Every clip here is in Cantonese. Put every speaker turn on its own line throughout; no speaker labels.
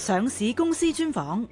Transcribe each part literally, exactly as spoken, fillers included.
上市公司專訪。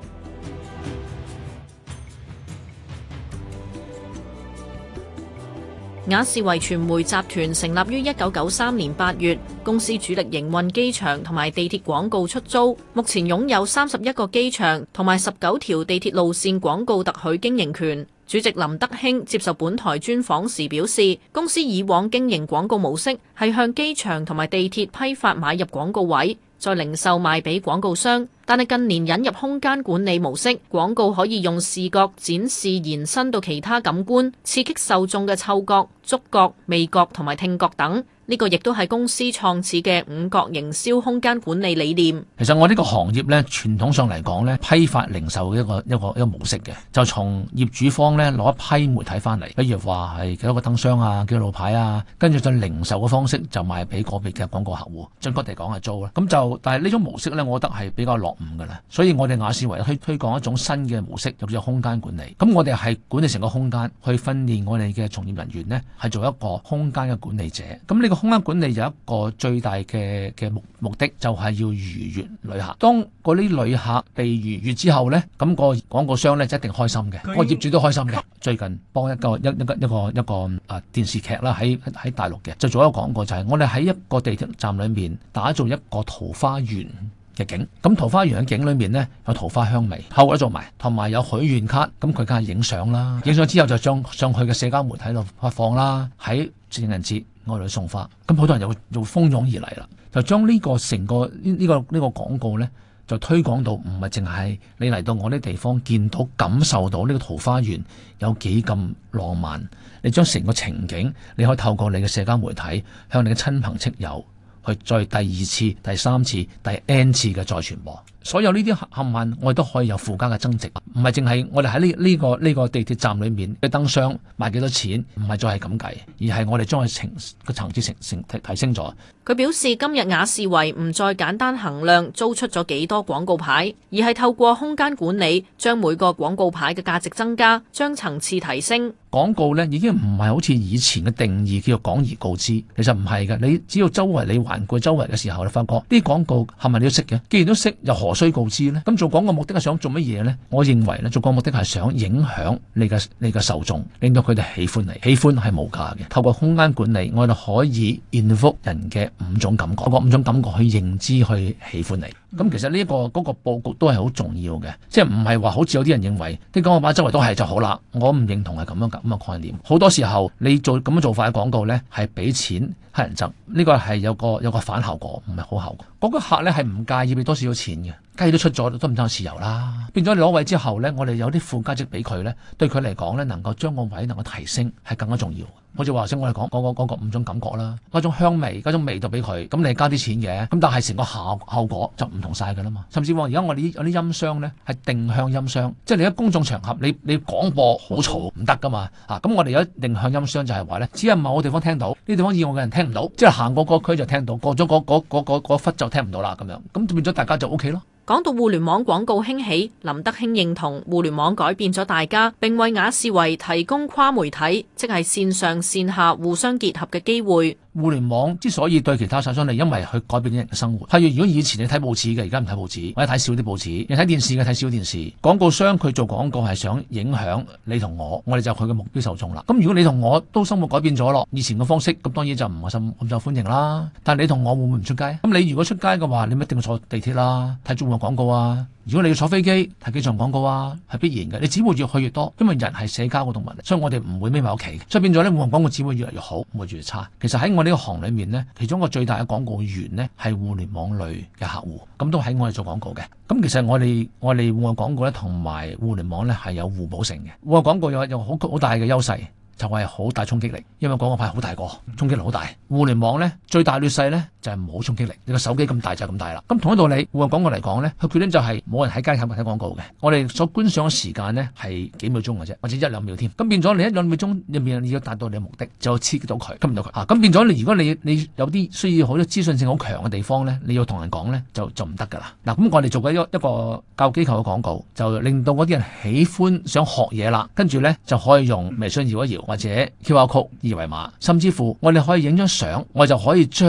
雅士維傳媒集團成立於一九九三年八月，公司主力營運機場同埋地鐵廣告出租，目前擁有三十一個機場同埋十九條地鐵路線廣告特許經營權。主席林德興接受本台專訪時表示，公司以往經營廣告模式係向機場同埋地鐵批發買入廣告位，再零售賣俾廣告商。但係近年引入空間管理模式，廣告可以用視覺展示延伸到其他感官，刺激受眾嘅嗅覺、觸覺、味覺同埋聽覺等。呢個亦都係公司創始嘅五角營銷空間管理理念。
其實我呢個行業呢，傳統上嚟講呢，批發零售一個一個一個模式嘅，就從業主方呢攞一批媒體翻嚟，比如話係幾多個燈箱啊，幾多路牌啊，跟住就零售嘅方式就賣俾個別嘅廣告客戶，準確地講係租啦。咁就但係呢種模式呢，我覺得係比較落伍噶啦。所以我哋雅士維推推廣一種新嘅模式，就叫做空間管理。咁我哋係管理成個空間，去訓練我哋嘅從業人員呢，係做一個空間嘅管理者。咁呢個空間管理有一個最大嘅嘅目目的，就係要愉悅旅客。當嗰啲旅客被愉悅之後呢，咁個廣告商呢就一定開心嘅，個業主都開心嘅。最近幫一個一一個一個一個啊電視劇啦，喺喺大陸嘅，就做一個廣告，就係我哋喺一個地鐵站裏面打造一個桃花源嘅景。咁桃花源嘅景裏面呢，有桃花香味，後果都做埋，同埋有許願卡。咁佢梗係影相啦，影相之後就將上去嘅社交媒體度發放啦。喺情人節我哋去送花，咁好多人就會就蜂擁而嚟啦，就將呢個成個呢呢個呢個廣告呢，就推廣到唔係淨係你嚟到我啲地方見到感受到呢個桃花源有幾咁浪漫，你將成個情景你可以透過你嘅社交媒體向你嘅親朋戚友去再第二次、第三次、第 N 次嘅再傳播。所有呢啲冚唪我哋都可以有附加嘅增值，唔係淨係我哋喺呢呢個呢、呢個地鐵站裏面嘅燈箱賣幾多錢，唔係再係咁計，而係我哋將佢層個層次成成提提升咗。
佢表示今日雅士維唔再簡單衡量租出咗幾多廣告牌，而係透過空間管理，將每個廣告牌嘅價值增加，將層次提升。
廣告呢已經唔係好似以前嘅定義叫做廣而告之，其實唔係嘅。你只要周圍你環顧周圍嘅時候，你發覺啲廣告係咪你都識嘅？既然都識，又何須告知呢？咁做廣告目的係想做乜嘢呢？我認為呢，做廣告目的係想影響你嘅你嘅受眾，令到佢哋喜歡你。喜歡係無價嘅。透過空間管理，我哋可以 invoke 人嘅五種感覺，嗰五種感覺去認知去喜歡你。咁其實呢、這、一個嗰、那個佈局都係好重要嘅，即係唔係話好似有啲人認為啲廣告牌周圍都係就好啦。我唔認同係咁樣咁嘅概念。好多時候你做咁樣做法嘅廣告呢，係俾錢乞人憎，呢、這個係有個有個反效果，唔係好效果。嗰、那個客呢係唔介意俾多少少錢嘅，雞都出咗都唔爭豉油啦。變咗你攞位之後呢，我哋有啲附加值俾佢呢，對佢嚟講呢，能夠將個位能夠提升係更加重要。好似話先我哋講嗰個嗰個五種感覺啦，嗰種香味，嗰種味道俾佢，咁你加啲錢嘅，咁但係成個效效果就唔同晒噶啦嘛。甚至乎而家我哋有啲音箱呢係定向音箱，即係你喺公眾場合你你廣播好嘈唔得噶嘛啊！咁我哋有定向音箱就係話呢，只係某個地方聽到，呢地方以外嘅人聽唔到，即係行過嗰區就聽到，過咗嗰嗰嗰嗰嗰忽就聽唔到啦咁樣，咁變咗大家就 O K 咯。
講到互聯網廣告興起，林德興認同互聯網改變咗大家，並為雅士維提供跨媒體，即係線上線下互相結合嘅機會。
互聯網之所以對其他產商嚟，因為佢改變咗人嘅生活。譬如如果以前你睇報紙嘅，而家唔睇報紙，或者睇少啲報紙；你睇電視嘅睇少電視。廣告商佢做廣告係想影響你同我，我哋就佢嘅目標受眾啦。咁如果你同我都生活改變咗咯，以前嘅方式咁當然就唔係咁咁受歡迎啦。但係你同我會唔會唔出街？咁你如果出街嘅話，你咪一定要坐地鐵啦，睇中國廣告啊。如果你要坐飛機睇機場廣告啊，係必然嘅。你只會越去越多，因為人係社交嘅動物，所以我哋唔會匿埋屋企。所以變咗咧，互聯網廣告只會越嚟越好，唔會越嚟越差。其實喺我呢個行裏面呢，其中一個最大嘅廣告源呢係互聯網類嘅客戶，咁都喺我哋做廣告嘅。咁其實我哋我哋互聯網廣告咧同埋互聯網咧係有互補性嘅。互聯網廣告有有好好大嘅優勢。就係好大衝擊力，因為廣告牌好大個，衝擊力好大。互聯網呢，最大劣勢呢就係冇衝擊力，你個手機咁大就咁大啦。咁同一道理，互聯網廣告嚟講呢，佢缺點就係冇人喺街睇睇廣告嘅。我哋所觀賞嘅時間呢係幾秒鐘嘅啫，或者一兩秒添。咁變咗你一兩秒鐘入面你要達到你嘅目的，就刺激到佢，吸引到佢。啊，咁變咗你如果你你有啲需要好多資訊性好強嘅地方呢，你要同人講呢，就就唔得㗎啦。嗱，咁我哋做緊一一個教育機構嘅廣告，就令到嗰啲人喜歡想學嘢啦，跟住呢，就可以用微信搖一搖。或者 Q R code 二維碼，甚至乎我哋可以影張相，我就可以將呢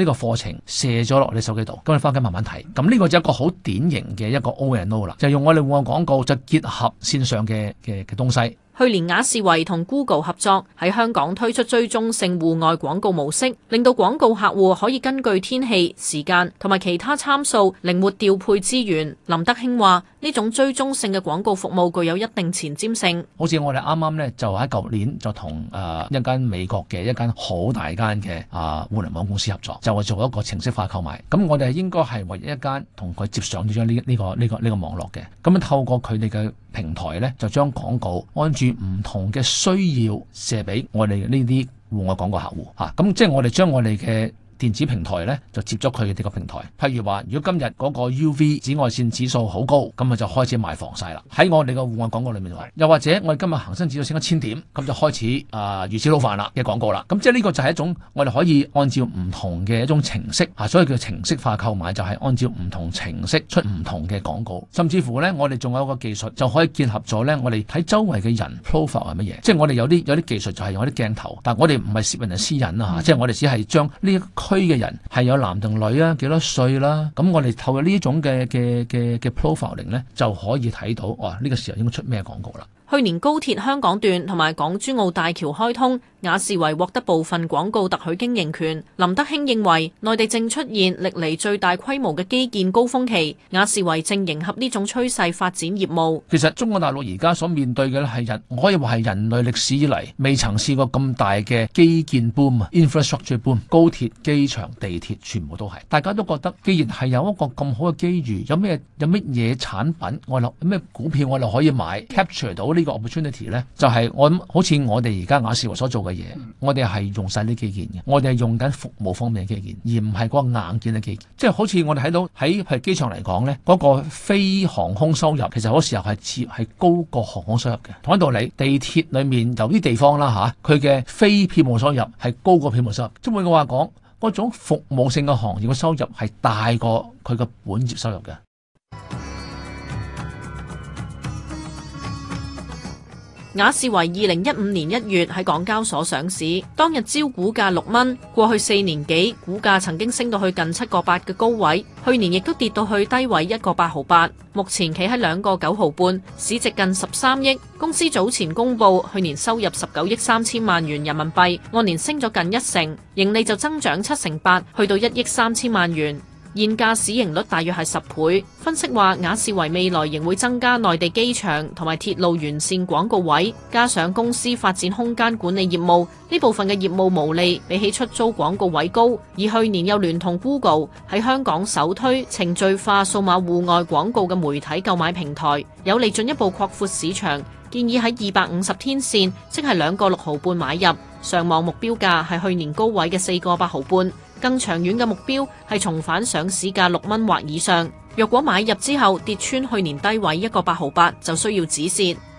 呢個課程射咗落你手機度，咁你翻屋企慢慢睇。咁呢個就一個好典型嘅一個 O and O 啦，就用我哋戶外廣告就結合線上嘅嘅嘅東西。
去年雅士維同 Google 合作喺香港推出追蹤性戶外廣告模式，令到廣告客戶可以根據天氣、時間同埋其他參數靈活調配資源。林德興話：呢種追蹤性嘅廣告服務具有一定前瞻性。
好似我哋啱啱呢，就喺舊年就同誒、呃、一間美國嘅一間好大間嘅啊互聯網公司合作，就係做一個程式化購買。咁我哋應該係唯一一間同佢接上咗呢呢個呢、呢個呢、呢個網絡嘅。咁樣透過佢哋嘅平台呢，就將廣告按住唔同嘅需要射俾我哋呢啲戶外廣告客戶嚇。咁、啊、即係我哋將我哋嘅電子平台咧就接咗佢哋呢個平台。譬如話，如果今日嗰個 U V 紫外線指數好高，咁啊就開始賣防曬啦。喺我哋個戶外廣告裏面話，又或者我哋今日恒生指數升一千點，咁就開始啊魚翅撈飯啦嘅廣告啦。咁即係呢個就係一種我哋可以按照唔同嘅一種程式啊，所以叫程式化購買，就係按照唔同程式出唔同嘅廣告。甚至乎咧，我哋仲有一個技術就可以結合咗咧，我哋睇周圍嘅人 profile 係乜嘢。即係我哋有啲有啲技術就係用啲鏡頭，但係我哋唔係攝人哋私隱啊，嗯、即係我哋只係將呢一區嘅人係有男定女啊，幾多歲啦，咁我哋透過呢一種嘅嘅嘅嘅 profiling 咧，就可以睇到哇，呢個時候應該出咩廣告啦。
去年高鐵香港段同埋港珠澳大橋開通，雅士維獲得部分廣告特許經營權。林德興認為，內地正出現歷嚟最大規模嘅基建高峰期，雅士維正迎合呢種趨勢發展業務。
其實中國大陸而家所面對嘅咧係人，我可以話係人類歷史以嚟未曾試過咁大嘅基建 boom 啊 ，infrastructure boom，高鐵、機場、地鐵全部都係。大家都覺得，既然係有一個咁好嘅機遇，有咩有乜嘢產品我哋有咩股票我哋可以買 capture 到呢？呢個 opportunity 咧，就係我諗，好似我哋而家雅士維所做嘅嘢，我哋係用晒啲基建嘅，我哋係用緊服務方面嘅基建，而唔係嗰個硬件嘅基建。即係好似我哋睇到喺係機場嚟講咧，嗰個非航空收入其實嗰時候係似係高過航空收入嘅。同一道理，地鐵裡面有啲地方啦嚇，佢嘅非票務收入係高過票務收入。即係換句話講，嗰種服務性嘅行業嘅收入係大過佢嘅本業收入嘅。
雅士維二零一五年一月喺港交所上市，當日招股價六蚊，過去四年幾股價曾經升到去近七個八嘅高位，去年亦都跌到去低位一個八毫八，目前企喺兩個九毫半，市值近十三億。公司早前公布去年收入十九億三千萬元人民幣，按年升咗近一成，盈利就增長七成八，去到一億三千萬元。現價市盈率大約係十倍。分析話，雅士維未來仍會增加內地機場同埋鐵路沿線廣告位，加上公司發展空間管理業務，呢部分嘅業務毛利比起出租廣告位高。而去年又聯同 Google 喺香港首推程序化數碼戶外廣告嘅媒體購買平台，有利進一步擴闊市場。建議喺二百五十天線，即係兩個六毫半買入，上望目標價係去年高位嘅四個八毫半。更長遠嘅目標係重返上市價六蚊或以上。若果買入之後跌穿去年低位一個八毫八，就需要止蝕。